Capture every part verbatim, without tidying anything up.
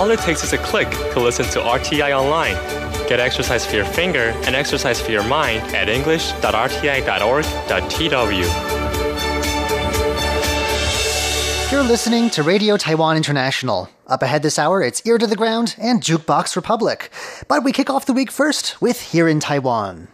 All it takes is a click to listen to R T I online. Get exercise for your finger and exercise for your mind at english dot r t i dot org dot t w. You're listening to Radio Taiwan International. Up ahead this hour, it's Ear to the Ground and Jukebox Republic. But we kick off the week first with Here in Taiwan.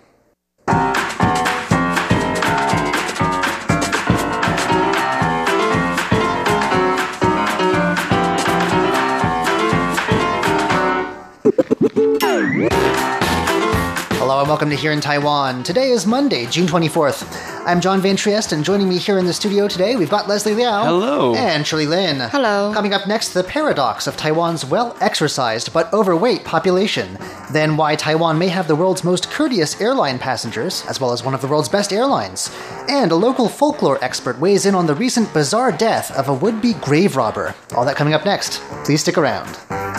Hello and welcome to Here in Taiwan. Today is Monday, June twenty-fourth. I'm John Van Trieste, and joining me here in the studio today, we've got Leslie Liao. Hello. And Shirley Lin. Hello. Coming up next, the paradox of Taiwan's well-exercised but overweight population. Then why Taiwan may have the world's most courteous airline passengers, as well as one of the world's best airlines. And a local folklore expert weighs in on the recent bizarre death of a would-be grave robber. All that coming up next. Please stick around.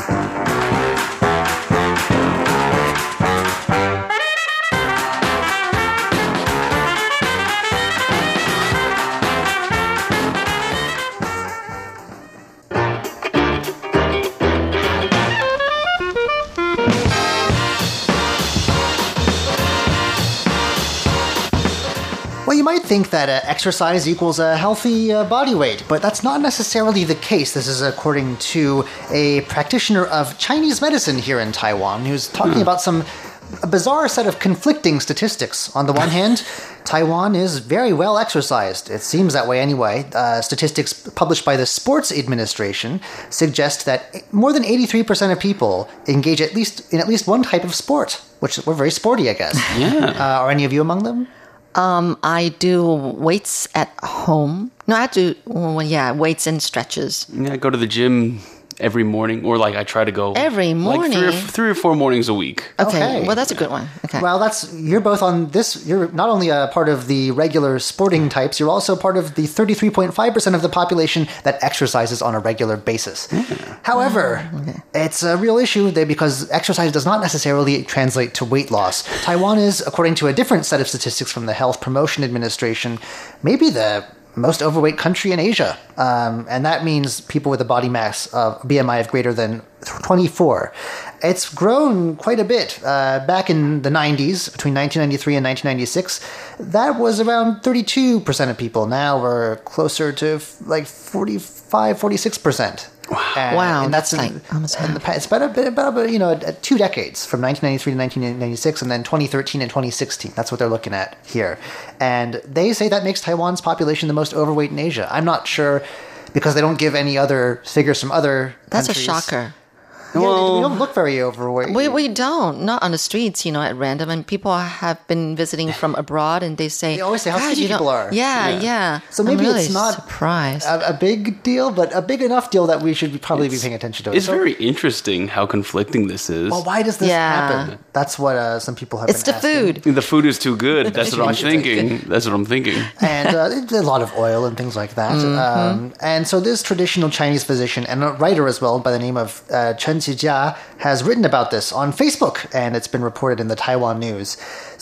Well, you might think that uh, exercise equals a healthy uh, body weight, but that's not necessarily the case. This is according to a practitioner of Chinese medicine here in Taiwan who's talking hmm. about some a bizarre set of conflicting statistics. On the one hand, Taiwan is very well exercised. It seems that way anyway. Uh, statistics published by the Sports Administration suggest that more than eighty-three percent of people engage at least in at least one type of sport, which we're very sporty, I guess. Yeah. Uh, are any of you among them? Um, I do weights at home. No, I do, well, yeah, weights and stretches. Yeah, I go to the gym every morning, or like I try to go every morning, like three or, three or four mornings a week. Okay. Okay. Well, that's a good one. Okay. Well, that's you're both on this. You're not only a part of the regular sporting types, you're also part of the thirty-three point five percent of the population that exercises on a regular basis. Yeah. However, oh, okay. it's a real issue there because exercise does not necessarily translate to weight loss. Taiwan is, according to a different set of statistics from the Health Promotion Administration, maybe the most overweight country in Asia. Um, and that means people with a body mass of B M I of greater than twenty-four. It's grown quite a bit. Uh, back in the nineties, between nineteen ninety-three and nineteen ninety-six, that was around thirty-two percent of people. Now we're closer to like forty-five, forty-six percent. Wow. And, wow. And that's, that's in, like almost in the past. It's about, a, about you know, two decades, from nineteen ninety-three to nineteen ninety-six, and then twenty thirteen and twenty sixteen. That's what they're looking at here. And they say that makes Taiwan's population the most overweight in Asia. I'm not sure, because they don't give any other figures from other That's countries. a shocker. Yeah, well, we don't look very overweight. We we don't. Not on the streets, you know, at random. And people have been visiting from abroad, and they say, They always say how "Gosh, skinny you don't-" people are. Yeah, Yeah. yeah. So maybe I'm really it's not surprised. a, a big deal, but a big enough deal that we should probably It's- be paying attention to it. It's So- very interesting how conflicting this is. Well, why does this Yeah. happen? That's what uh, some people have It's been the asking. food. The food is too good. That's what I'm Watch it take. thinking. That's what I'm thinking. and uh, a lot of oil and things like that. Mm-hmm. Um, and so this traditional Chinese physician and a writer as well by the name of uh, Chen Qijia has written about this on Facebook, and it's been reported in the Taiwan news.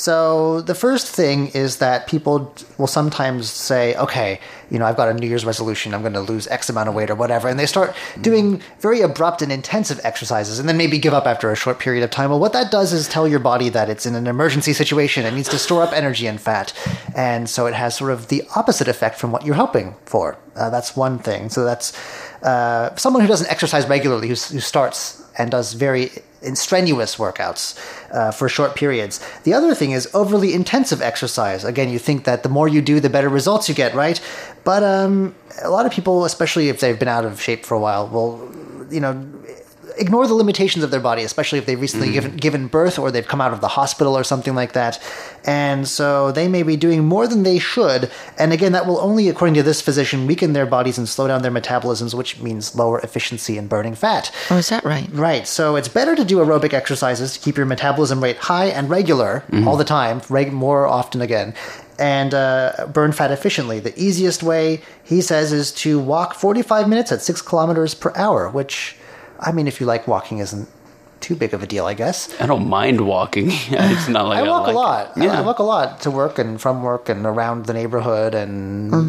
So the first thing is that people will sometimes say, okay, you know, I've got a New Year's resolution, I'm going to lose X amount of weight or whatever, and they start doing very abrupt and intensive exercises and then maybe give up after a short period of time. Well, what that does is tell your body that it's in an emergency situation, it needs to store up energy and fat, and so it has sort of the opposite effect from what you're hoping for. Uh, that's one thing. So that's uh, someone who doesn't exercise regularly, who, who starts and does very strenuous workouts uh, for short periods. The other thing is overly intensive exercise. Again, you think that the more you do, the better results you get, right? But um, a lot of people, especially if they've been out of shape for a while, will, you know, ignore the limitations of their body, especially if they've recently mm. given, given birth or they've come out of the hospital or something like that. And so they may be doing more than they should. And again, that will only, according to this physician, weaken their bodies and slow down their metabolisms, which means lower efficiency in burning fat. Oh, is that right? Right. So it's better to do aerobic exercises to keep your metabolism rate high and regular mm-hmm. all the time, reg- more often again, and uh, burn fat efficiently. The easiest way, he says, is to walk forty-five minutes at six kilometers per hour, which, I mean, if you like walking, isn't too big of a deal, I guess. I don't mind walking. It's not like I I, walk like a lot. It. Yeah. I walk a lot to work and from work and around the neighborhood and mm-hmm.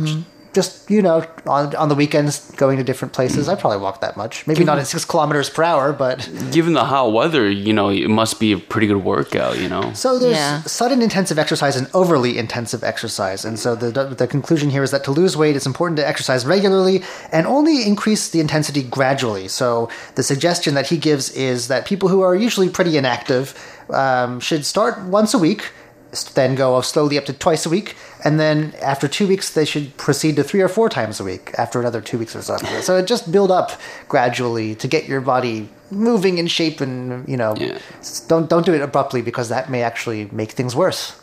just, you know, on on the weekends going to different places. I probably walk that much. Maybe not at six kilometers per hour, but... Given the hot weather, you know, it must be a pretty good workout, you know? So there's Yeah. sudden intensive exercise and overly intensive exercise. And so the, the conclusion here is that to lose weight, it's important to exercise regularly and only increase the intensity gradually. So the suggestion that he gives is that people who are usually pretty inactive um, should start once a week, then go slowly up to twice a week, and then after two weeks they should proceed to three or four times a week after another two weeks or so. So it just build up gradually to get your body moving in shape, and you know, Yeah. don't don't do it abruptly because that may actually make things worse.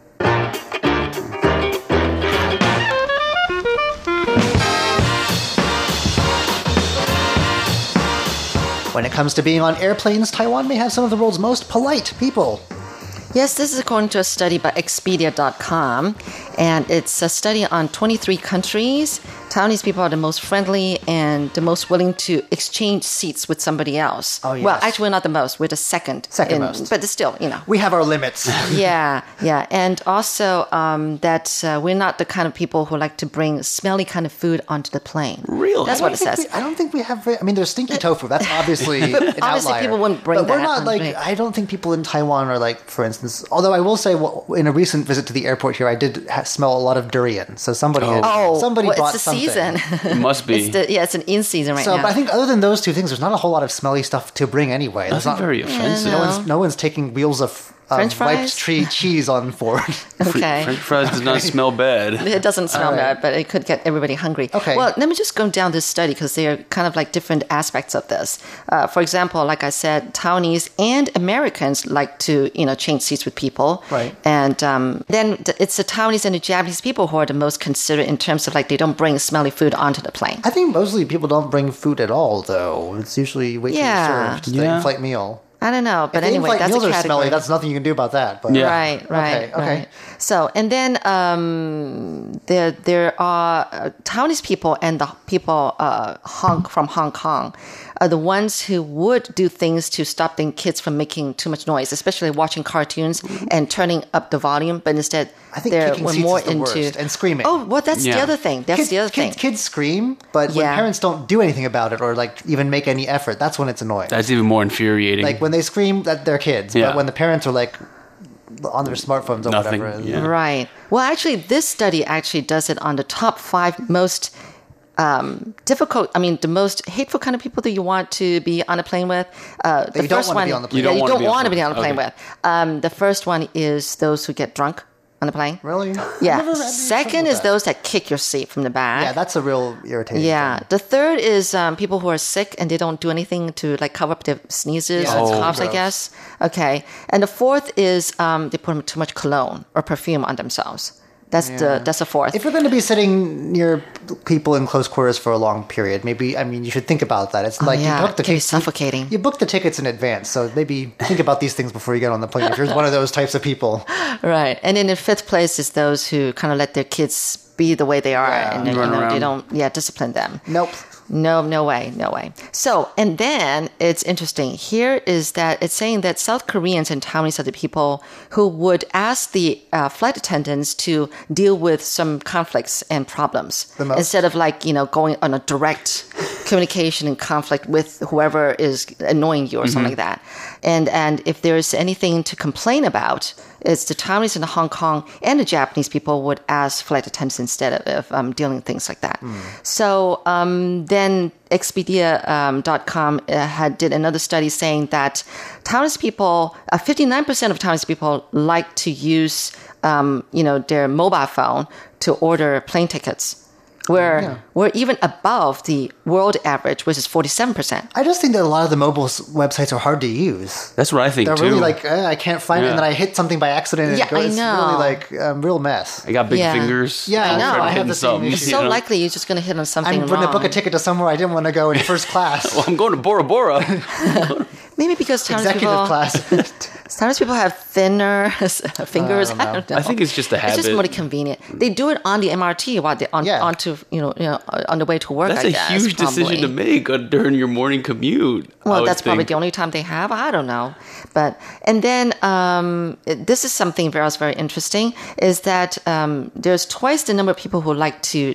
When it comes to being on airplanes, Taiwan may have some of the world's most polite people. Yes, this is according to a study by Expedia dot com, and it's a study on twenty-three countries. Taiwanese people are the most friendly and the most willing to exchange seats with somebody else. Oh, yes. Well, actually, we're not the most. We're the second. Second in- most. But still, you know. We have our limits. yeah, yeah. And also um, that uh, we're not the kind of people who like to bring smelly kind of food onto the plane. Really? That's I what don't it think says. we- I don't think we have. very- I mean, there's stinky tofu. That's obviously an obviously outlier. people wouldn't bring but we're that not on like. plane. I don't think people in Taiwan are like, for instance. Although I will say, well, in a recent visit to the airport here, I did ha- smell a lot of durian. So somebody, had, Oh, somebody well, brought it's the something. season. It must be. It's the, yeah, it's an in season right So, now. but I think other than those two things, there's not a whole lot of smelly stuff to bring anyway. There's That's not very offensive. No one's no one's taking wheels of um, French wiped fries? tree cheese on board. okay. French fries does not smell bad. It doesn't smell All right. bad, but it could get everybody hungry. Okay. Well, let me just go down this study because they are kind of like different aspects of this. Uh, for example, like I said, Taiwanese and Americans like to, you know, change seats with people. Right. And um, then th- it's the Taiwanese and the Japanese people who are the most considerate in terms of like they don't bring smelly food onto the plane. I think mostly people don't bring food at all, though. It's usually wait till Yeah. you're served. The Yeah. in-flight meal. I don't know, but If the anyway, in-flight that's meals a are category. smelly. That's nothing you can do about that. But Yeah. Right, right, Okay, okay. right. So, and then um, there there are uh, Taiwanese people and the people uh, Hong from Hong Kong are the ones who would do things to stop the kids from making too much noise, especially watching cartoons and turning up the volume. But instead, I think they're kicking we're seats more is the into worst, and screaming. Oh, well, that's the Yeah. other thing. That's kids, the other kids, thing. kids scream, but when Yeah. parents don't do anything about it or like even make any effort, that's when it's annoying. That's even more infuriating. Like when they scream, that they're kids. Yeah. But when the parents are like on their smartphones or Nothing, whatever. yeah. Right. Well, actually, this study actually does it on the top five most um, difficult. I mean, the most hateful kind of people that you want to be on a plane with. Uh, the you don't first wanna one, be on the plane. Yeah, You you don't don't wanna want to be be on on the a plane plane. with. Um, the first one is those who get drunk on the plane. Really? Yeah. I've never had any Second trouble is with that. those that kick your seat from the back. Yeah, that's a real irritating Yeah. thing. The third is um, people who are sick and they don't do anything to like cover up their sneezes Yeah, or that's coughs, I gross. guess. Okay. And the fourth is um, they put too much cologne or perfume on themselves. That's the that's the fourth. If you're going to be sitting near people in close quarters for a long period, maybe, I mean, you should think about that. It's like Oh, yeah, you book the it can be tickets. suffocating. You, you book the tickets in advance, so maybe think about these things before you get on the plane. If you're one of those types of people, Right. And then in fifth place is those who kind of let their kids be the way they are Yeah. and then, you Run know, they around. don't yeah, discipline them. nope. No, no way, no way. So, and then it's interesting. Here is that it's saying that South Koreans and Taiwanese are the people who would ask the uh, flight attendants to deal with some conflicts and problems The most. instead of like, you know, going on a direct communication and conflict with whoever is annoying you or something like that. And and if there's anything to complain about, it's the Taiwanese and the Hong Kong and the Japanese people would ask flight attendants instead of, of um, dealing with things like that. So um, then Expedia dot com uh, had did another study saying that Taiwanese people, uh, fifty-nine percent of Taiwanese people like to use, um, you know, their mobile phone to order plane tickets. We're, Yeah. we're even above the world average, which is forty-seven percent. I just think that a lot of the mobile s- websites are hard to use. That's what I think They're too. really like, eh, I can't find it, Yeah. and then I hit something by accident. And Yeah, it goes, I It's know. really like a um, real mess. I got big Yeah. fingers. Yeah, I'm I know. trying to I hit have the same something, issue. It's you so know? likely you're just going to hit on something I'm going to wrong. book a ticket to somewhere I didn't want to go in first class. Well, I'm going to Bora Bora. Maybe because Taiwanese Executive people, class. Taiwanese people have thinner fingers. don't I know. don't know. I think it's just a It's habit. just more convenient. They do it on the M R T while they're on, Yeah. onto you know, you know on the way to work. That's I a guess, huge decision probably. to make uh, during your morning commute. I Well, would that's probably think. the only time they have. I don't know, but and then um, it- this is something very else very interesting is that um, there's twice the number of people who like to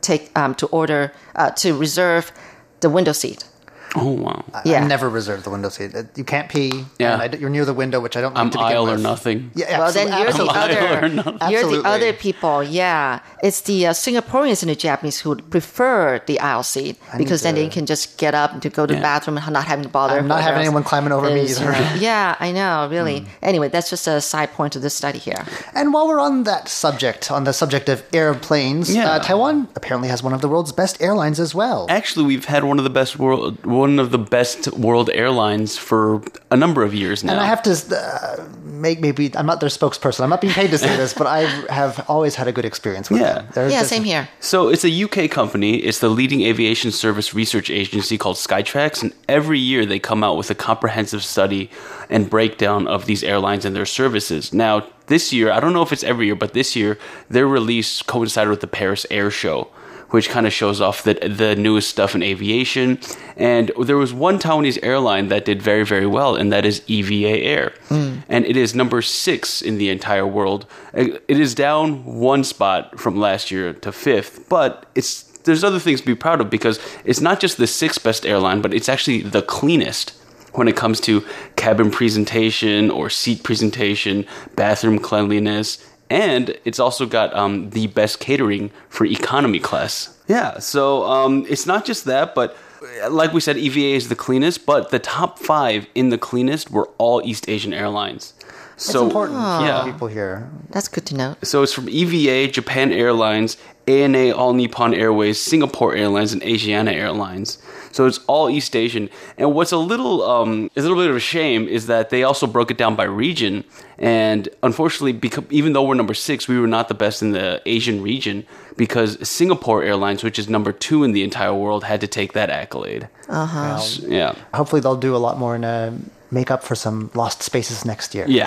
take um, to order uh, to reserve the window seat. Oh, wow. Yeah. I never reserve the window seat. You can't pee. Yeah. And I, you're near the window, which I don't like I'm to begin aisle or with. nothing. Yeah, Well, then you're the absolutely. Aisle or other. nothing. You're the Absolutely. other people. Yeah, it's the uh, Singaporeans and the Japanese who would prefer the aisle seat because then to- they can just get up to go to the Yeah. bathroom and not having to bother. I'm not having whoever else anyone climbing over me is, either. uh, yeah, I know, really. Anyway, that's just a side point to this study here. And while we're on that subject, on the subject of airplanes, Yeah. uh, Taiwan apparently has one of the world's best airlines as well. Actually, we've had one of the best world, one of the best world airlines for a number of years now. And I have to uh, make maybe I'm not their spokesperson. I'm not being paid to say this, but I have always had a good experience with Yeah. them. They're Yeah, just- same here. So it's a U K company. It's the leading aviation service research agency called Skytrax, and every year they come out with a comprehensive study and breakdown of these airlines and their services. Now, this year, I don't know if it's every year, but this year their release coincided with the Paris Air Show, which kind of shows off the the newest stuff in aviation. And there was one Taiwanese airline that did very, very well, and that is E V A Air. And it is number six in the entire world. It is down one spot from last year to fifth, but it's there's other things to be proud of because it's not just the sixth best airline, but it's actually the cleanest when it comes to cabin presentation or seat presentation, bathroom cleanliness. And it's also got um, the best catering for economy class. Yeah, so um, it's not just that, but like we said, E V A is the cleanest, but the top five in the cleanest were all East Asian airlines. It's So important for yeah. people here. That's good to know. So it's from E V A, Japan Airlines, A N A All Nippon Airways, Singapore Airlines, and Asiana Airlines. So it's all East Asian. And what's a little um, is a little bit of a shame is that they also broke it down by region. And unfortunately, because even though we're number six, we were not the best in the Asian region because Singapore Airlines, which is number two in the entire world, had to take that accolade. Uh-huh. So, yeah. Hopefully, they'll do a lot more and uh, make up for some lost spaces next year. Yeah.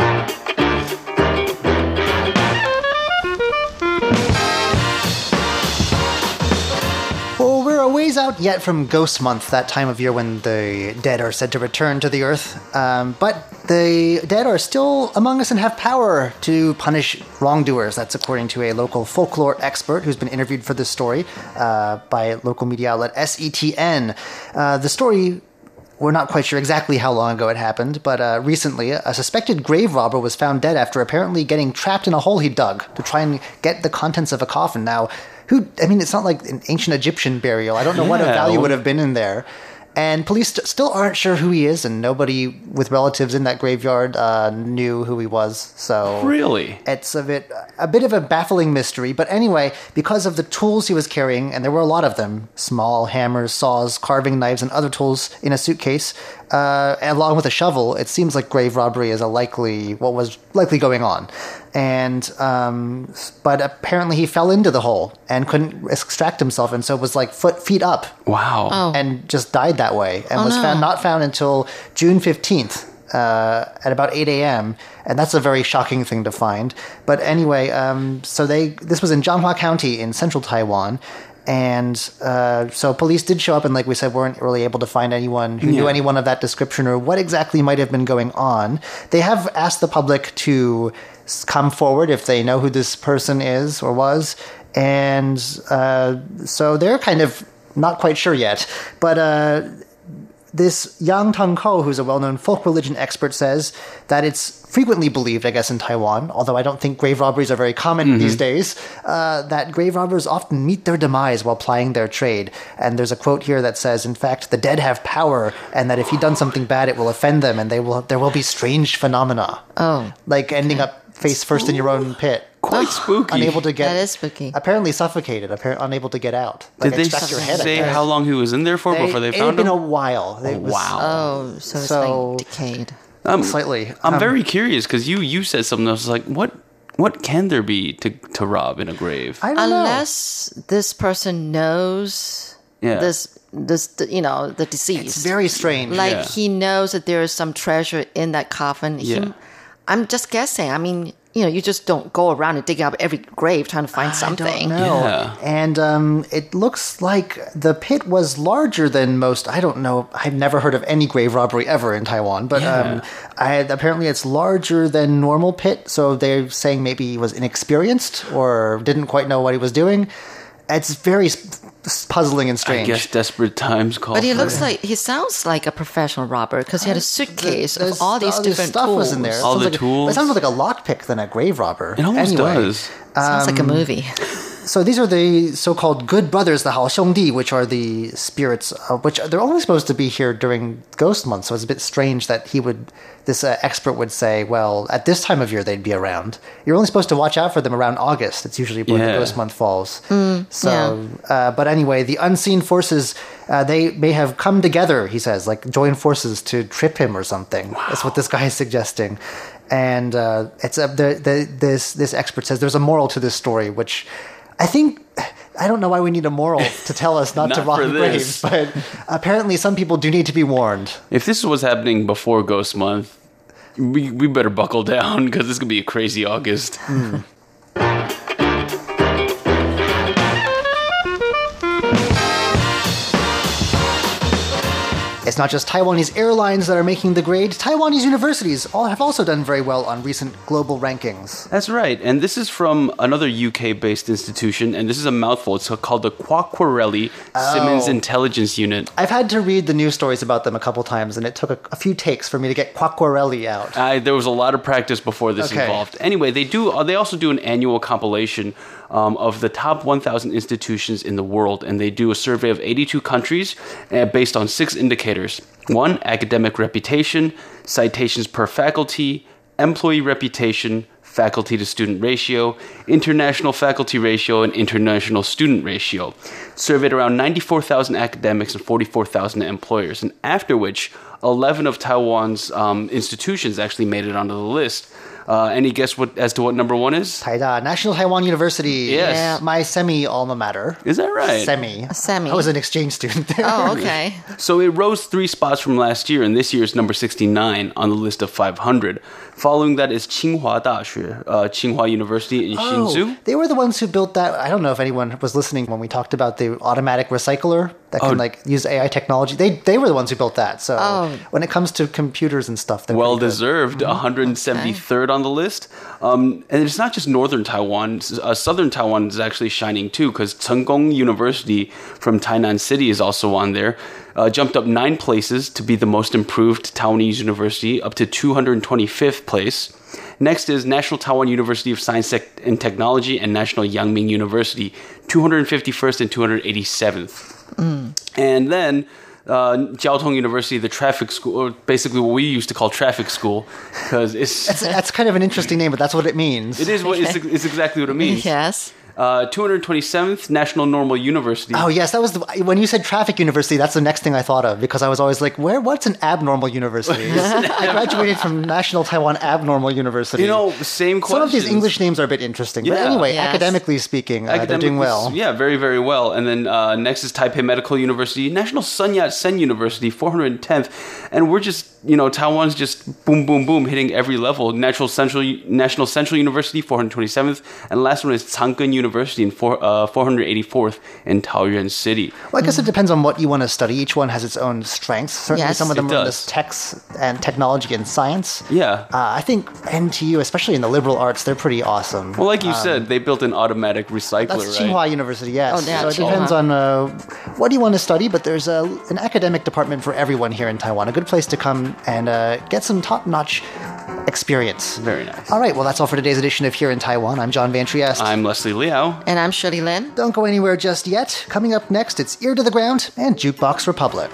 Well, we're a ways out yet from Ghost Month, that time of year when the dead are said to return to the earth. Um, but the dead are still among us and have power to punish wrongdoers. That's according to a local folklore expert who's been interviewed for this story uh, by local media outlet S E T N. Uh, the story... We're not quite sure exactly how long ago it happened, but uh, recently a suspected grave robber was found dead after apparently getting trapped in a hole he dug to try and get the contents of a coffin. Now, who? I mean, it's not like an ancient Egyptian burial. I don't know what a Yeah. value would have been in there. And police st- still aren't sure who he is, and nobody with relatives in that graveyard uh, knew who he was. So Really? it's a bit a bit of a baffling mystery. But anyway, because of the tools he was carrying, and there were a lot of them, small hammers, saws, carving knives, and other tools in a suitcase, uh, along with a shovel, it seems like grave robbery is a likely what was likely going on. And um, but apparently he fell into the hole and couldn't extract himself, and so was like foot feet up Wow. Oh. and just died that way, and Oh, was no. found not found until June fifteenth uh, at about eight a.m. And that's a very shocking thing to find. But anyway, um, so they this was in Jianghua County in central Taiwan. And uh, so police did show up and, like we said, weren't really able to find anyone who knew Yeah. anyone of that description or what exactly might have been going on. They have asked the public to s- come forward if they know who this person is or was. And uh, so they're kind of not quite sure yet. But uh, this Yang Teng-ko, who's a well-known folk religion expert, says that it's frequently believed, I guess, in Taiwan, although I don't think grave robberies are very common these days, uh, that grave robbers often meet their demise while plying their trade. And there's a quote here that says, in fact, the dead have power, and that if you've done something bad, it will offend them, and they will there will be strange phenomena. Oh. Like ending up face first in your own pit. Quite spooky. Unable to get... That is spooky. Apparently suffocated, appar- unable to get out. Like Did they extract your head, I say guess. how long he was in there for They- before they it found had been him? a while. It was wow. Oh, so it's So- like decayed. Um, Slightly. I'm Um, very curious because you you said something. I was like, what what can there be to to rob in a grave? I don't know. Unless this person knows Yeah. this, this, you know, the deceased. It's very strange. like Yeah. he knows that there is some treasure in that coffin. He- Yeah. I'm just guessing. I mean, you know, you just don't go around and dig up every grave trying to find I something. don't know. Yeah. And um, it looks like the pit was larger than most. I don't know. I've never heard of any grave robbery ever in Taiwan, but Yeah. um, I, apparently it's larger than normal pit. So they're saying maybe he was inexperienced or didn't quite know what he was doing. It's very s- s- puzzling and I strange. guess desperate times call But he for looks it. like he sounds like a professional robber because he had a suitcase There's- of all these all this different stuff tools. was in there. It All sounds the like a- tools. it sounds more like a lockpick than a grave robber. It almost anyway, does. Sounds like a movie. So these are the so-called good brothers, the 好兄弟, which are the spirits, uh, which they're only supposed to be here during Ghost Month. So it's a bit strange that he would, this uh, expert would say, well, at this time of year they'd be around. You're only supposed to watch out for them around August. It's usually when Yeah. the Ghost Month falls. so, uh, but anyway, the unseen forces, uh, they may have come together, he says, like join forces to trip him or something. That's what this guy is suggesting. And uh, it's a, the, the, this this expert says there's a moral to this story, which I think I don't know why we need a moral to tell us not, to Not rob for graves, this. but apparently some people do need to be warned. If this was happening before Ghost Month, we, we better buckle down because this could be a crazy August. It's not just Taiwanese airlines that are making the grade. Taiwanese universities all have also done very well on recent global rankings. That's right. And this is from another U K-based institution, and this is a mouthful. It's called the Quacquarelli Simmons Oh. Intelligence Unit. I've had to read the news stories about them a couple times, and it took a, a few takes for me to get Quacquarelli out. I, there was a lot of practice before this Okay. involved. Anyway, they do. uh, They also do an annual compilation um, of the top one thousand institutions in the world, and they do a survey of eighty-two countries uh, based on six indicators. One, academic reputation, citations per faculty, employee reputation, faculty to student ratio, international faculty ratio, and international student ratio. Surveyed around ninety-four thousand academics and forty-four thousand employers, and after which eleven of Taiwan's um, institutions actually made it onto the list. Uh, any guess what as to what number one is? Taida, National Taiwan University. Yes. Yeah. My semi alma mater. Is that right? Semi. semi. I was an exchange student there. Oh, okay. So it rose three spots from last year, and this year is number sixty-nine on the list of five hundred. Following that is Tsinghua Daxue, uh, Tsinghua University in Hsinchu. Oh, they were the ones who built that. I don't know if anyone was listening when we talked about the automatic recycler that can Oh. like use A I technology. They they were the ones who built that. So Oh. when it comes to computers and stuff, they're Well pretty good. deserved, one hundred seventy-third on the list. Um, and it's not just northern Taiwan. Uh, southern Taiwan is actually shining too, because Chenggong University from Tainan City is also on there. Uh, jumped up nine places to be the most improved Taiwanese university, up to two hundred twenty-fifth place. Next is National Taiwan University of Science Tech- and Technology and National Yangming University, two hundred fifty-first and two hundred eighty-seventh. And then uh, Jiao Tong University, the traffic school, or basically what we used to call traffic school, because it's That's, that's kind of an interesting name, but that's what it means. it is what it's, it's exactly what it means. Yes. Uh, two hundred twenty-seventh National Normal University. Oh yes, that was the, when you said traffic university. That's the next thing I thought of because I was always like, "Where? What's an abnormal university?" I graduated from National Taiwan Abnormal University. You know, same some of these questions. English names are a bit interesting, but Yeah. anyway, Yes. academically speaking, uh, they're Academically, doing well. Yeah, very, very well. And then uh, next is Taipei Medical University, National Sun Yat-sen University, four hundred tenth. And we're just, you know, Taiwan's just boom, boom, boom, hitting every level. Natural Central, National Central University, four hundred twenty-seventh. And last one is Chang'an University, in four, uh, four hundred eighty-fourth in Taoyuan City. Well, I guess it depends on what you want to study. Each one has its own strengths. Certainly, Yes, some of them it are in does. this techs and technology and science. Yeah. Uh, I think N T U, especially in the liberal arts, they're pretty awesome. Well, like you said, they built an automatic recycler, That's right? Tsinghua University, yes. Oh, yeah, so it Tsinghua. depends on uh, what do you want to study, but there's a, an academic department for everyone here in Taiwan. A good place to come and uh, get some top-notch experience. Very nice. All right, well, that's all for today's edition of Here in Taiwan. I'm John Van Trieste. I'm Leslie Liao. And I'm Shirley Lin. Don't go anywhere just yet. Coming up next, it's Ear to the Ground and Jukebox Republic.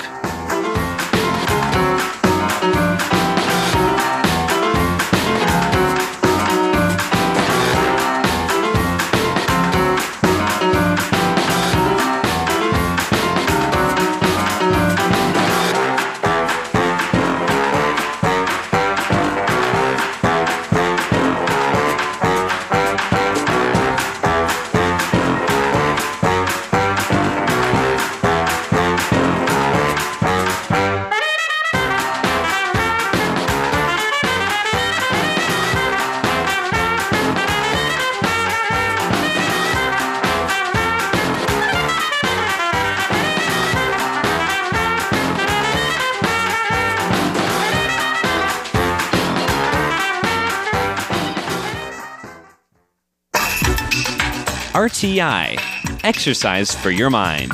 R T I, exercise for your mind.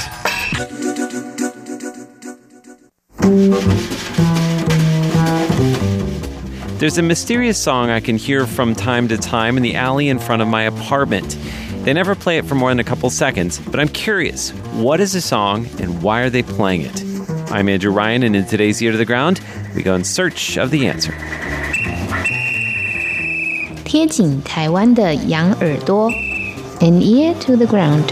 There's a mysterious song I can hear from time to time in the alley in front of my apartment. They never play it for more than a couple seconds, but I'm curious, what is the song and why are they playing it? I'm Andrew Ryan, and in today's Ear to the Ground, we go in search of the answer. 贴紧台湾的羊耳朵 An ear to the ground.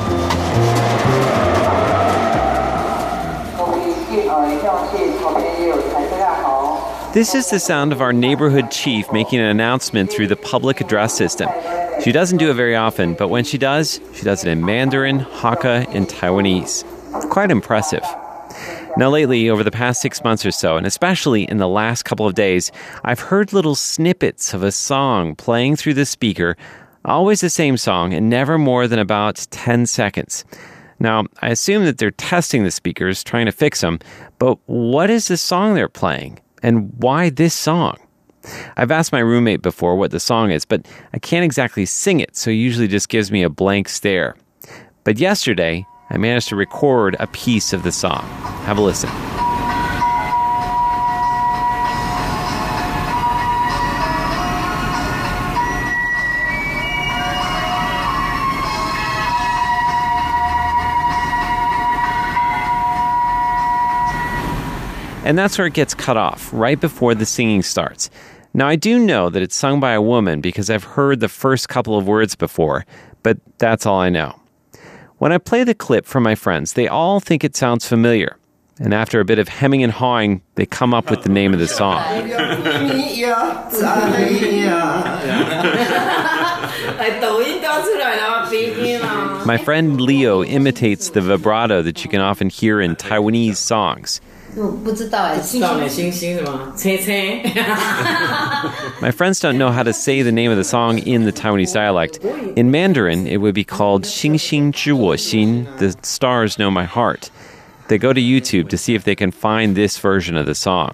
This is the sound of our neighborhood chief making an announcement through the public address system. She doesn't do it very often, but when she does, she does it in Mandarin, Hakka, and Taiwanese. Quite impressive. Now lately, over the past six months or so, and especially in the last couple of days, I've heard little snippets of a song playing through the speaker, always the same song, and never more than about ten seconds. Now, I assume that they're testing the speakers, trying to fix them, but what is the song they're playing? And why this song? I've asked my roommate before what the song is, but I can't exactly sing it, so he usually just gives me a blank stare. But yesterday, I managed to record a piece of the song. Have a listen. And that's where it gets cut off, right before the singing starts. Now, I do know that it's sung by a woman because I've heard the first couple of words before, but that's all I know. When I play the clip for my friends, they all think it sounds familiar. And after a bit of hemming and hawing, they come up with the name of the song. My friend Leo imitates the vibrato that you can often hear in Taiwanese songs. My friends don't know how to say the name of the song in the Taiwanese dialect. In Mandarin, it would be called 星星知我心, the stars know my heart. They go to YouTube to see if they can find this version of the song.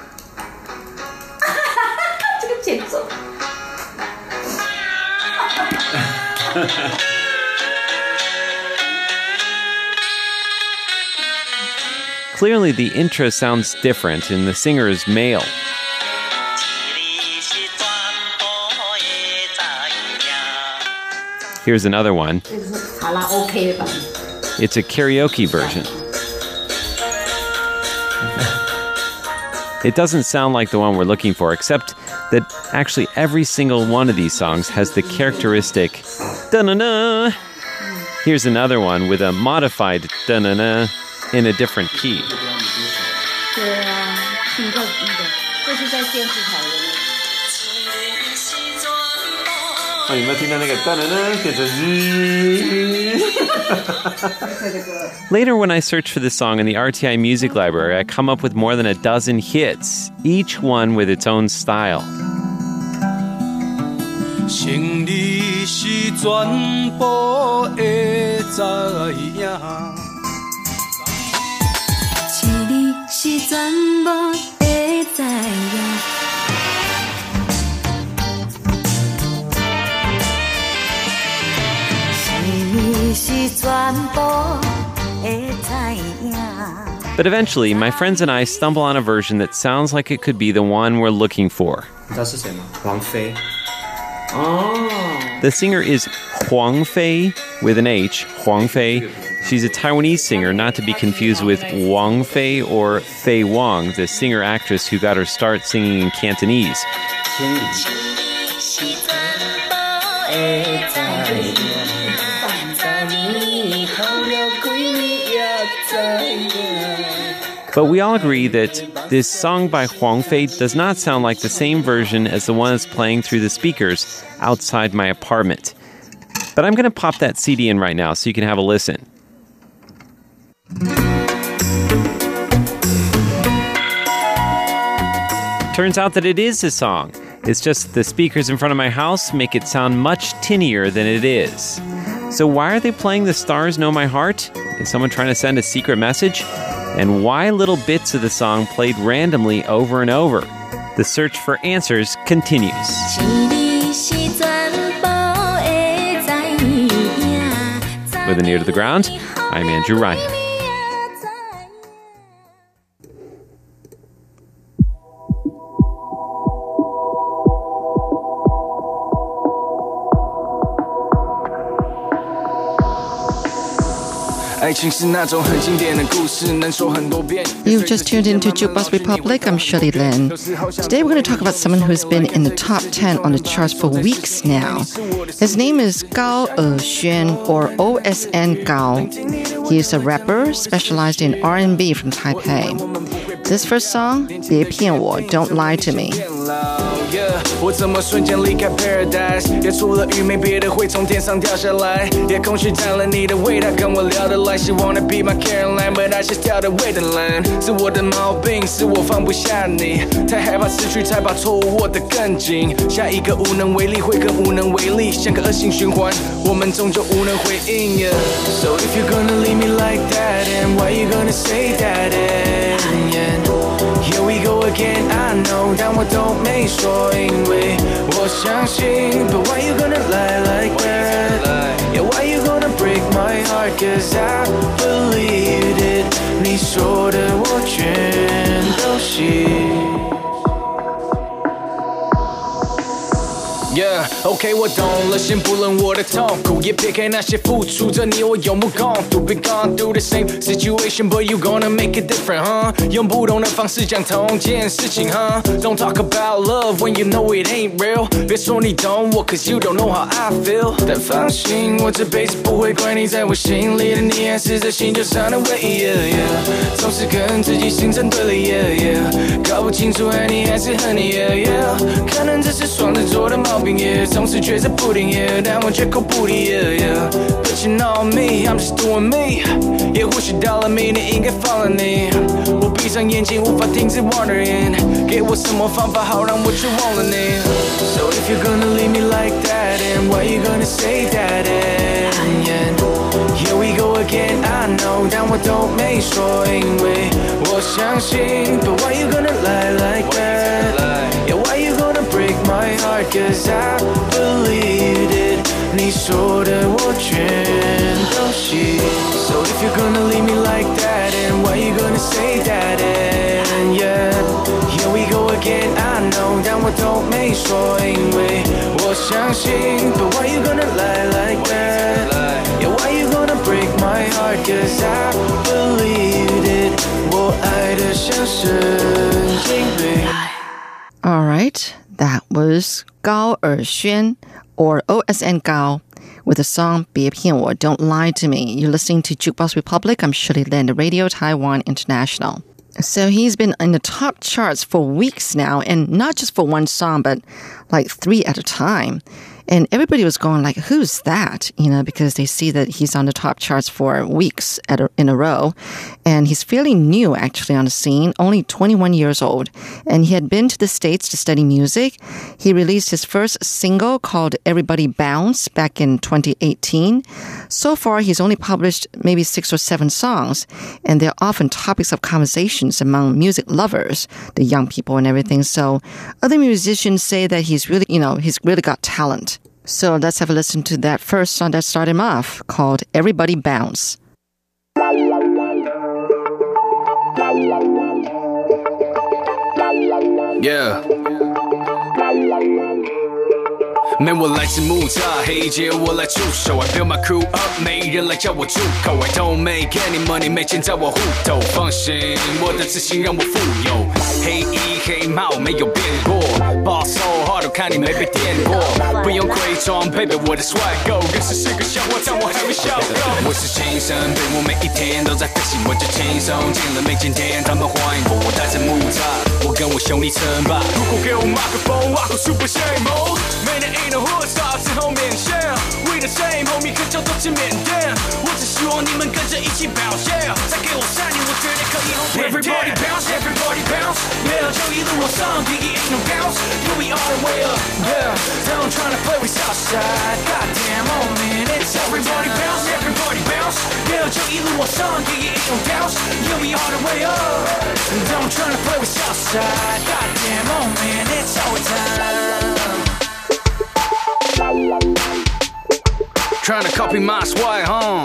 Clearly, the intro sounds different, and the singer is male. Here's another one. It's a karaoke version. It doesn't sound like the one we're looking for, except that actually every single one of these songs has the characteristic da-na-na. Here's another one with a modified da-na-na in a different key. Later, when I search for this song in the R T I Music Library, I come up with more than a dozen hits, each one with its own style. But eventually, my friends and I stumble on a version that sounds like it could be the one we're looking for. The singer is Huang Fei with an H, Huang Fei. She's a Taiwanese singer, not to be confused with Wang Fei or Fei Wang, the singer-actress who got her start singing in Cantonese. But we all agree that this song by Huang Fei does not sound like the same version as the one that's playing through the speakers outside my apartment. But I'm going to pop that C D in right now so you can have a listen. Turns out that it is a song. It's just the speakers in front of my house make it sound much tinnier than it is. So why are they playing The Stars Know My Heart? Is someone trying to send a secret message? And why little bits of the song played randomly over and over? The search for answers continues. With an Ear to the Ground, I'm Andrew Ryan. You've just tuned into Jukebox Republic. I'm Shirley Lin. Today we're going to talk about someone who's been in the top ten on the charts for weeks now. His name is Gao Erxuan, or O S N Gao. He is a rapper specialized in R and B from Taipei. This first song, 别骗我, Don't Lie to Me. 我怎么瞬间离开 Paradise 也除了愚昧别的会从天上掉下来夜空虚占了你的味道跟我聊得来希望 wanna be my Caroline but I just 跳的 way 的蓝是我的毛病是我放不下你太害怕失去才把错误握得更紧下一个无能为力会更无能为力像个恶性循环我们终究无能回应 yeah. So if you're gonna leave me like that and why you gonna say that and yeah. Here we go again, I know 但我都没说因为我相信 But why you gonna lie like that? Yeah, why you gonna break my heart? Cause I believed it 你说的我全都信 Yeah, OK 我懂了先不论我的痛苦也撇开那些付出着你我有目共睹 Been gone through the same situation But you gonna make it different, huh? 用不同的方式讲同件事情, huh? Don't talk about love when you know it ain't real 别说你懂我 Cause you don't know how I feel 但放心我这辈子不会怪你在我心里的你还是这星球上的唯一 yeah, yeah. 总是跟自己形成对立 yeah, yeah. 搞不清楚爱你还是恨你 yeah, yeah. 可能这是双子座的毛病Yeah, 总是觉着不定 yeah, 但我绝口不提 yeah, yeah. But you know me, I'm just doing me 也或许到了明年应该放了你我闭上眼睛无法停止 wondering 给我什么方法好让我去忘了你 So if you're gonna leave me like that and why you gonna say that and yeah. Here we go again, I know 但我都没说因为我相信 But why you gonna lie like that? Yeah, why you gonna break my heart? Cause I believed it 你说的我全都信 So if you're gonna leave me like that and why you gonna say that and yeah Here we go again I know 但我都没说因为我相信 But why you gonna lie like that Yeah why you gonna break my heart Cause I believed it 我爱的像神经病 Alright, that was Gao Erxuan, or O S N Gao, with the song 别骗我, Don't Lie to Me. You're listening to Jukebox Republic. I'm Shirley Lin, Radio Taiwan International. So he's been in the top charts for weeks now, and not just for one song, but like three at a time. And everybody was going like, who's that? You know, because they see that he's on the top charts for weeks at a, in a row. And he's fairly new, actually, on the scene, only twenty-one years old. And he had been to the States to study music. He released his first single called Everybody Bounce back in twenty eighteen. So far, he's only published maybe six or seven songs. And they're often topics of conversations among music lovers, the young people and everything. So other musicians say that he's really, you know, he's really got talent. So let's have a listen to that first song that started him off, called Everybody Bounce. Yeah. 没我来自木栅黑街我来驻守 I build my crew up 没人来叫我住口 I don't make any money 没钱在我户头放心我的自信让我富有黑衣黑帽没有变过 Boss so hard 我看你没被电过不用伪装 baby 我的 swag go 认识是个笑话但我还会笑够我是情深对我每一天都在飞行我就轻松进了每间店他们欢迎我我带着木栅我跟我兄弟称霸如果给我麦克风我会 super shame mode 每年一 hood stop 之后面线 We the same homie 可叫都去缅甸我只希望你们跟着一起表现再给我三年我绝对可以红遍 Everybody bounce everybody bounce Yeah 就一路往上第一 ain't no bounce Yeah we all the way up Yeah Now I'm trying to play with Southside Goddamn oh man it's everybody bounce everybody bounce Yeah 就一路往上第一 ain't no bounce Yeah we all the way up Now I'm trying to play with Southside Goddamn oh man it's our time Trying to copy my swag, huh?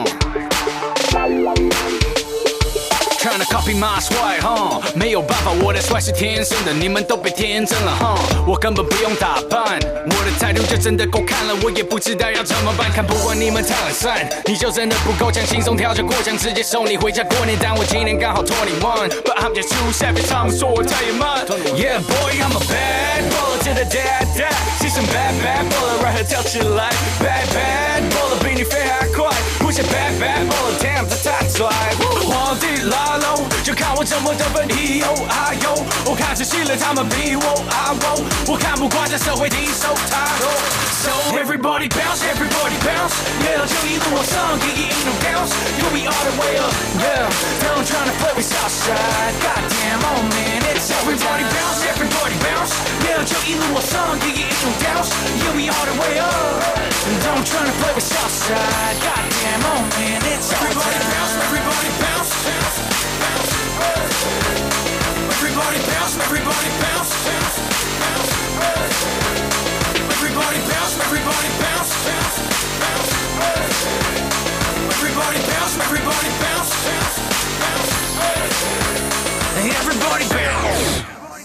Trying to copy my swag, huh? 没有办法，我的帅是天生的，你们都被天真了，huh? 我根本不用打扮，我的态度就真的够看了，我也不知道要怎么办。看不惯你们太懒散，你就真的不够强，轻松跳着过墙，直接送你回家过年。但我今年刚好twenty-one, but I'm just too savage， 他们说我太野蛮。Yeah boy, I'm a bad baller to the dead dead， 是什么 bad bad baller， right 跳起来 ，bad bad baller 比你飞还快，不是 bad bad baller， damn 他太拽。皇帝来喽，就看我怎么得分 E O I O， 我看仔细了他们比我 I O， 我看不惯这社会低手态。So everybody bounce, everybody bounce， yeah， 就一路往上，给一种 bounce， you'll be all the way up, yeah。Don't try to play with Southside, goddamn, oh man, it's everybody bounce, everybody bounce， yeah， 就一路往上，给一种 bounce， you'll be all the way up。Don't try to play with Southside, goddamn, oh man, it's everybody bounce, everybody bounce, bounce, bounce, everybody bounce, everybody bounce, bounce, bounce, everybody bounce, everybody bounce, bounce, bounce, everybody bounce, everybody bounce, bounce, bounce, everybody bounce.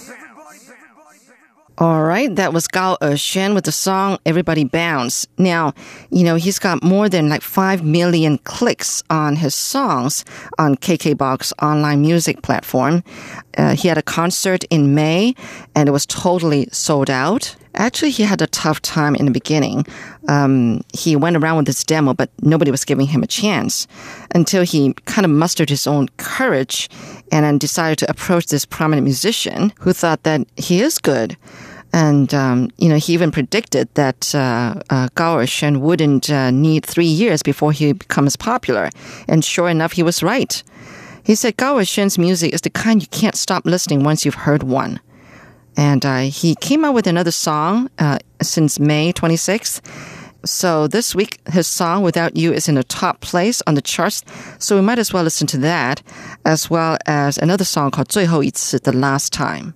All right, that was Gao Erxuan with the song Everybody Bounce. Now, you know, he's got more than like five million clicks on his songs on KKBOX online music platform. Uh, he had a concert in May and it was totally sold out. Actually, he had a tough time in the beginning. Um, he went around with his demo, but nobody was giving him a chance until he kind of mustered his own courage and then decided to approach this prominent musician who thought that he is good. And, um, you know, he even predicted that uh, uh, Gao Erxuan wouldn't uh, need three years before he becomes popular. And sure enough, he was right. He said Gao Erxuan's music is the kind you can't stop listening once you've heard one. And uh, he came out with another song uh, since May twenty-sixth. So this week, his song Without You is in the top place on the charts. So we might as well listen to that, as well as another song called 最后一次, The Last Time.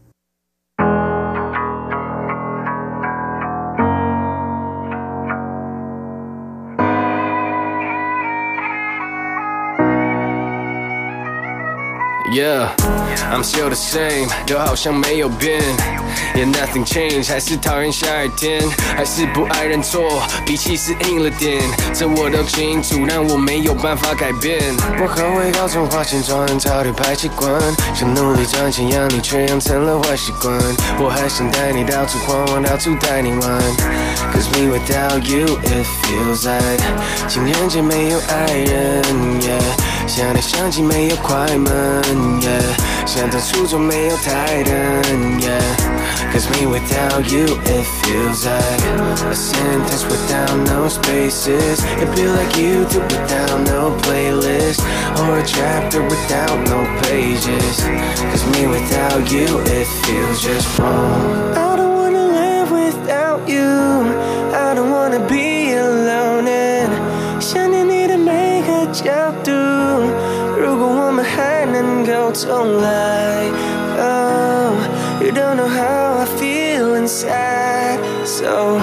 Yeah, I'm still the same， 都好像没有变 Yeah, nothing changed， 还是讨厌下雨天，还是不爱认错，脾气是硬了点，这我都清楚，但我没有办法改变。我很会搞错花钱装很潮的排气管，想努力赚钱养你，却养成了坏习惯。我还想带你到处晃晃，到处带你玩 Cause me without you it feels like 情人节没有爱人 yeah 想来想去没有快门 yeah 想当初就没有台灯 yeah Cause me without you it feels like a sentence without no spaces It feel like YouTube without no playlist Or a chapter without no pages Cause me without you it feels just wrong I don't wanna live without you I don't wanna be alone and 想念你的每个角度如果我们还能够重来 Oh, you don't know how I feel inside So,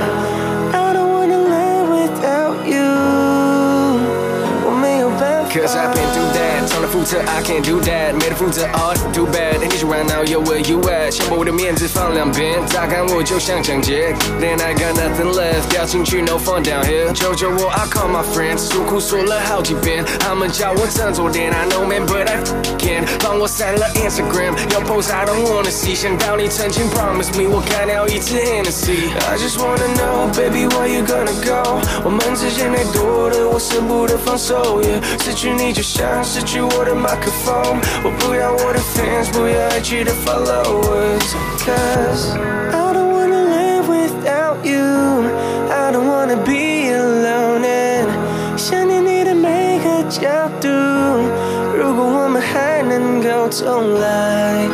I don't wanna live without you 我没有办法 Cause I've been through that 从来负责 I can't do that 没得负责 Oh, too bad 你说 right now, yo, where you at 想把我的面子放两边乍看我就像抢劫 Then I got nothing left 掉进去 no fun down here 求求我 I call my friends 诉苦说了好几遍他们叫我振作点 I know man, but I can't 帮我删了 Instagram 有 post I don't wanna see 想到你曾经 promise me 我干掉一次 Hennessy I just wanna know, baby, where you gonna go 我们之间太多的我舍不得放手 yeah 失去你就像失去我的麦克风我不要我的 fans 不要爱去的 followers Cause I don't wanna live without you I don't wanna be alone and 想念你的每个角度如果我们还能够重来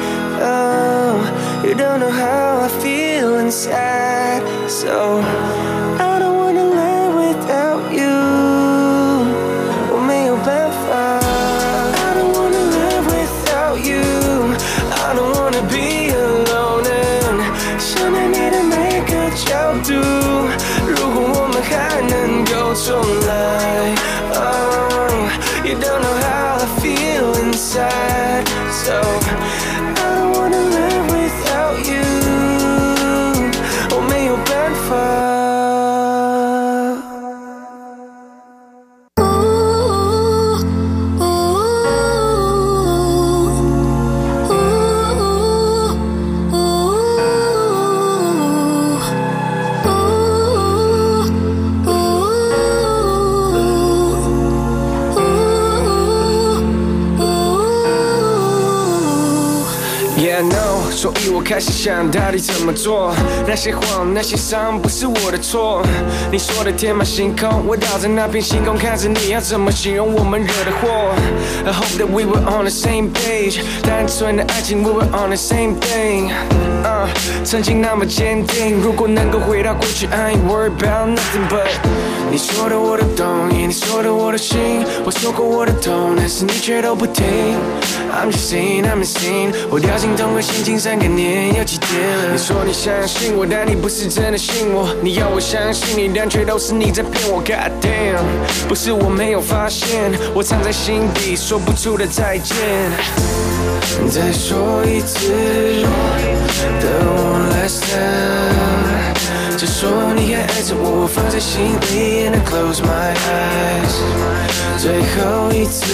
Oh, you don't know how I feel inside So, I don't wanna live without you 我没有办法 I don't wanna live without you I don't wanna be alone and 想念你的每个角度如果我们还能够重来 know， 所以我开始想到底怎么做。那些谎，那些伤，不是我的错。你说的天马行空，我倒在那片星空，看着你要怎么形容我们惹的祸。I hope that we were on the same page， 单纯的爱情 we were on the same thing。Uh, 曾经那么坚定，如果能够回到过去 I ain't worried about nothing but 你说的我都懂，你说的我都信，我说过我的痛，但是你却都不听。I'm just saying I'm insane， 我掉进同个陷阱三个年有几天了。你说你相信我，但你不是真的信我，你要我相信你，但却都是你在骗我。God damn， 不是我没有发现，我藏在心底说不出的再见。再说一次 The one last time， 就说你还爱着我，放在心里 And I close my eyes。 最后一次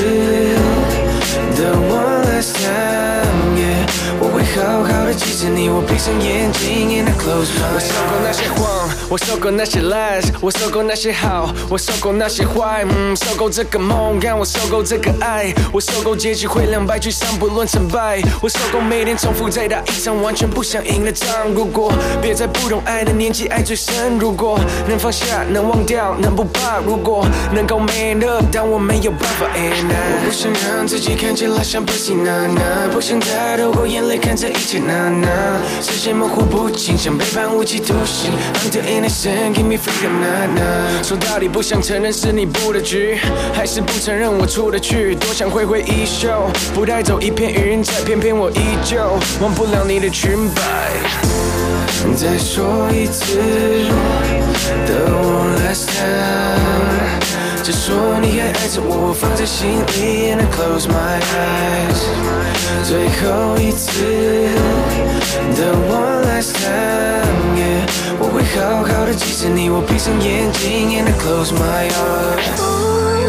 The one last time， yeah， 我会好好的记着你，我闭上眼睛 And I close my eyes。 我受够那些谎，我受够那些 lies， 我受够那些好，我受够那些坏，嗯，受够这个梦，让我受够这个爱，我受够结局会两败俱伤，不论成败，我受够每天重复再打一场完全不想赢的仗。如果别在不懂爱的年纪爱最深，如果能放下，能忘掉，能不怕，如果能够 man up， 但我没有办法 and I， 我不想让自己看起来像 pussy 娜娜，不想再透过眼泪看这一切娜娜，视线模糊不清，像被判无期徒刑。I'm the innocent， give me freedom 娜娜。说到底不想承认是你布的局，还是不承认我出得去，多想挥挥衣袖，不带走一片云彩，偏偏我依旧忘不了你的裙摆。再说一次 The one last time， 就说你还爱着我，放在心里 And I close my eyes。 最后一次 The one last time， yeah， 我会好好的记着你，我闭上眼睛 And I close my eyes。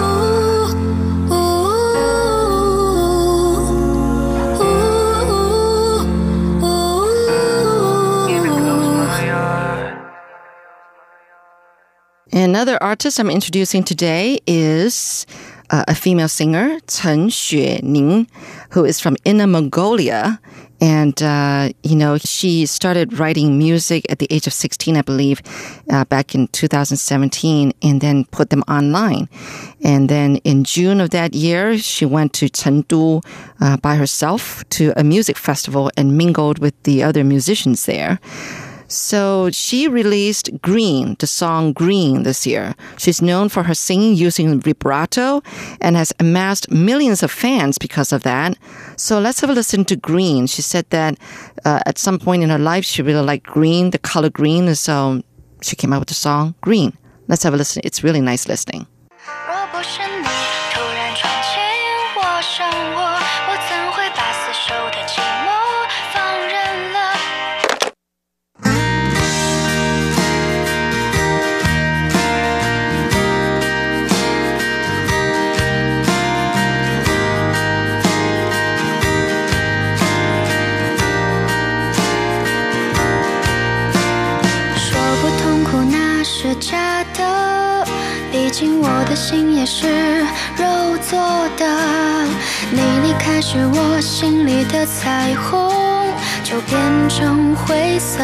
Another artist I'm introducing today is uh, a female singer, Chen Xuening, who is from Inner Mongolia. And, uh, you know, she started writing music at the age of sixteen, I believe, uh, back in two thousand seventeen, and then put them online. And then in June of that year, she went to Chengdu uh, by herself to a music festival and mingled with the other musicians there. So she released Green, the song Green, this year. She's known for her singing using vibrato and has amassed millions of fans because of that. So let's have a listen to Green. She said that uh, at some point in her life, she really liked green, the color green, and so she came out with the song Green. Let's have a listen. It's really nice listening. 假的，毕竟我的心也是肉做的。你离开时，我心里的彩虹就变成灰色。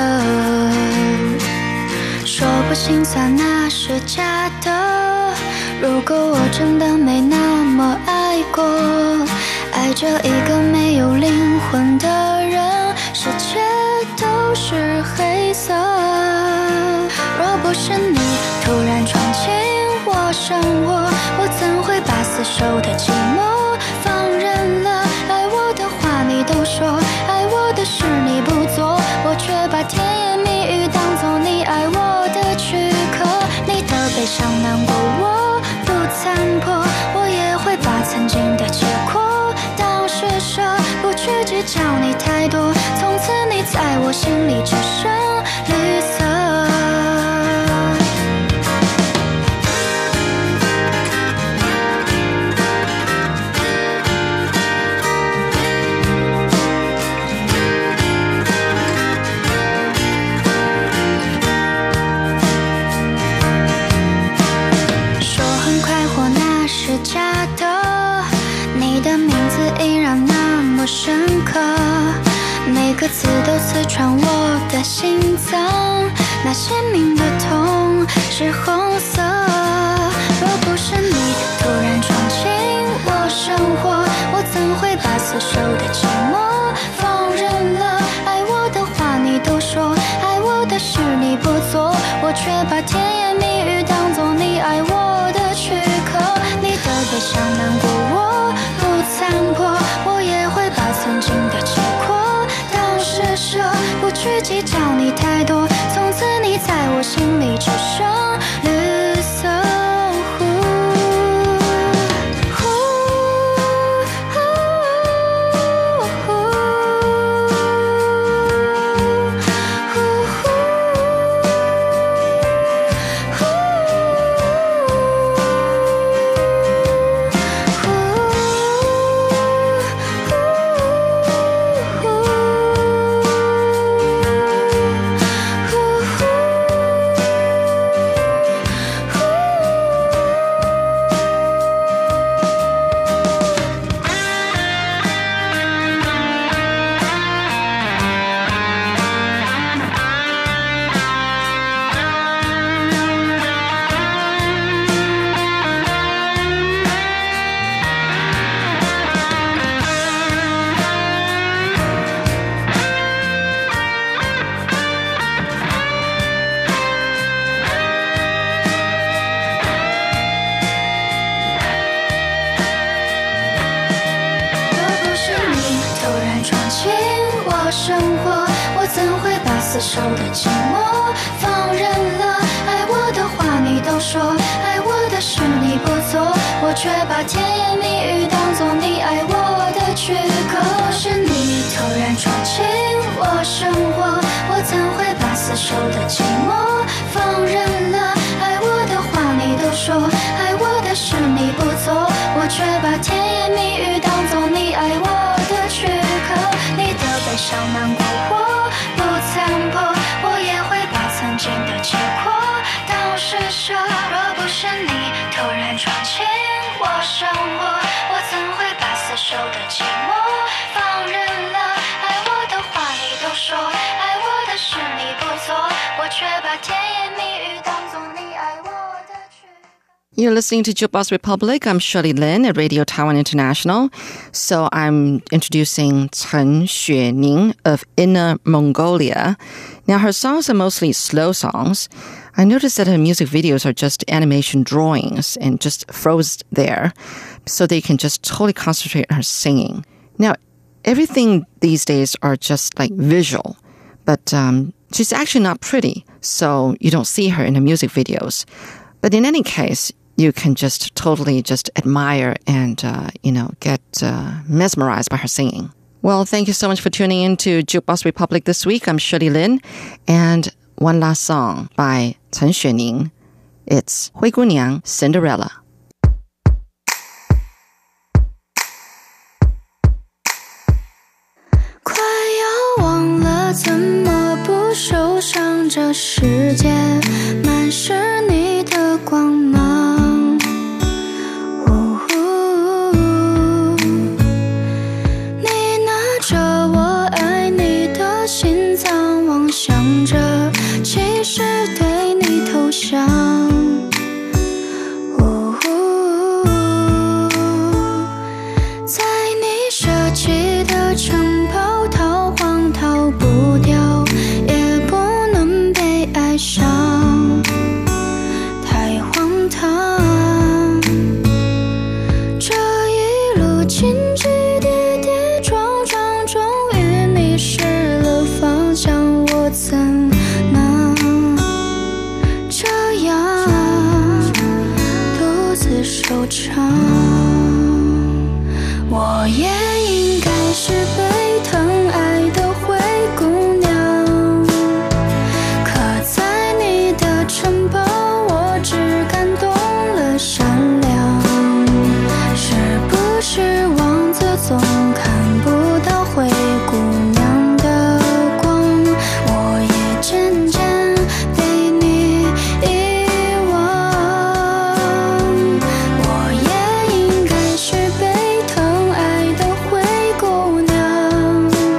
说不心酸那是假的，如果我真的没那么爱过，爱着一个没有灵魂的人，世界都是黑色。若不是你突然闯进我生活，我怎会把厮守的寂寞放任了？爱我的话你都说，爱我的事你不做，我却把甜言蜜语当作你爱我的躯壳。你的悲伤难过我不残破，我也会把曾经的结果当施舍，不去计较你太多，从此你在我心里只剩绿色。假的，你的名字依然那么深刻，每个字次都刺穿我的心脏，那鲜明的痛是红色。若不是你突然闯进我生活，我怎会把死守的寂寞放任了？爱我的话你都说，爱我的事你不做，我却把甜言蜜语当作你爱我的躯壳。你的悲伤难过我不残破，我也会把曾经的结果当施舍，不去计较你太多，从此你在我心里只剩绿色。生活，我怎会把死守的寂寞放任了？爱我的话你都说，爱我的事你不做，我却把甜言蜜语当作你爱我的躯壳。是你突然闯进我生活，我怎会把死守的寂寞放任了？爱我的话你都说，爱我的事你不做，我却把甜言蜜语当作你爱我的躯壳。你的悲伤难过我不残破，我也会把曾经的结果当施舍。若不是你突然闯进我生活，我怎会把死守的寂寞放任了？爱我的话你都说，爱我的事你不做，我却把甜言蜜语当作你爱我的躯壳。 You're listening to Jukebox Republic. I'm Shirley Lin at Radio Taiwan International. So I'm introducing Chen Xuening of Inner Mongolia. Now, her songs are mostly slow songs. I noticed that her music videos are just animation drawings and just froze there, so they can just totally concentrate on her singing. Now, everything these days are just like visual, but um, she's actually not pretty, so you don't see her in her music videos. But in any case, you can just totally just admire and, uh, you know, get uh, mesmerized by her singing. Well, thank you so much for tuning in to Jukebox Republic this week. I'm Shirley Lin. And one last song by Chen Xuening. It's 灰姑娘 Cinderella. 快要忘了怎么不受伤，这世界满是你的光芒。想着其实对你投降，哦，在你设计的城堡逃荒逃不掉，也不能被爱上，太荒唐。这一路荆棘跌跌撞撞，终于迷失了方向。我怎能这样独自收场？我也应该是被疼爱的灰姑娘，可在你的城堡，我只感动了善良。是不是王子总看不到灰姑娘？渐渐被你遗忘，我也应该是被疼爱的灰姑娘。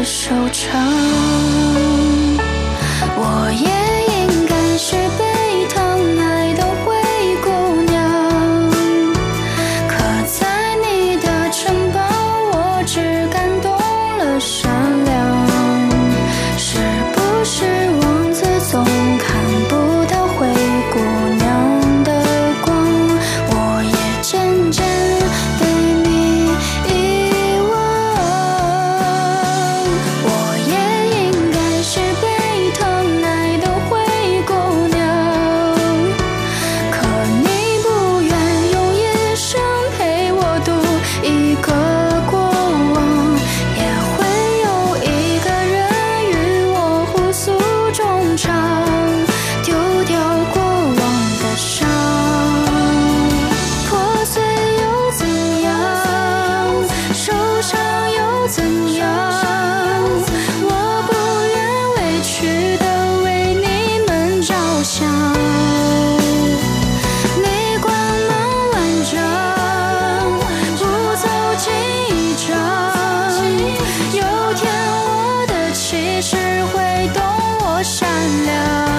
收场。我也应该是被疼爱的灰姑娘，可在你的城堡，我只感动了善良。是不是王子总看不到灰姑娘的光？我也渐渐被你遗忘。我也应该是被疼爱的灰姑娘，可你不愿用一生陪我度一个过往，也会有一个人与我互诉衷肠，丢掉过往的伤。破碎又怎样？受伤又怎样？我不愿委屈地为你们着想。你光芒万丈，不走进一场。有天我的气势会懂我善良。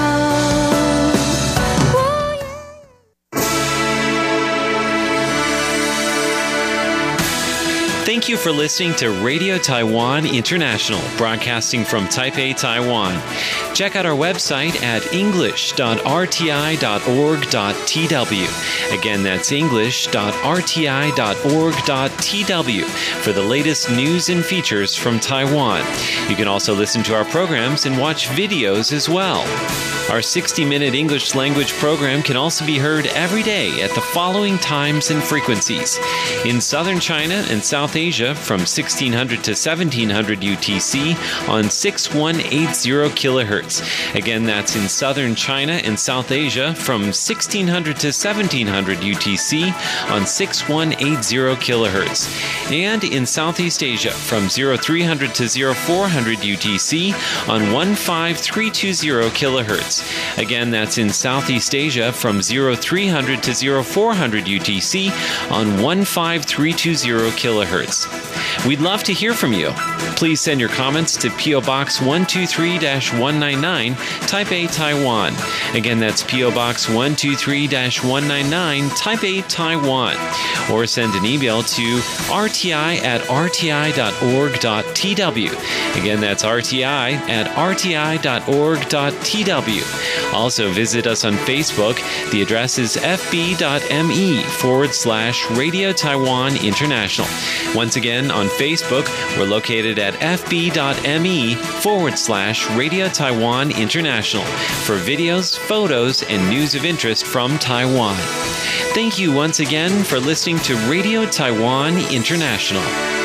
Thank you for listening to Radio Taiwan International, broadcasting from Taipei, Taiwan. Check out our website at english dot r t i dot org dot t w. Again, that's english dot r t i dot org dot t w for the latest news and features from Taiwan. You can also listen to our programs and watch videos as well. Our sixty-minute English language program can also be heard every day at the following times and frequencies. In southern China and South Asia from sixteen hundred to seventeen hundred U T C on six one eight zero kilohertz. Again, that's in southern China and South Asia from sixteen hundred to seventeen hundred U T C on six one eight zero kilohertz. And in Southeast Asia from three hundred to four hundred U T C on one five three two zero kilohertz. Again, that's in Southeast Asia from three hundred to four hundred U T C on one five three two zero kilohertz. We'd love to hear from you. Please send your comments to P O Box one two three dash one nine nine, Taipei, Taiwan. Again, that's P O Box one two three dash one nine nine, Taipei, Taiwan. Or send an email to r t i at r t i dot org dot t w. Again, that's r t i at r t i dot org dot t w. Also, visit us on Facebook. The address is fb.me forward slash Radio Taiwan International. Once again, on Facebook, we're located at fb.me forward slash Radio Taiwan International for videos, photos, and news of interest from Taiwan. Thank you once again for listening to Radio Taiwan International.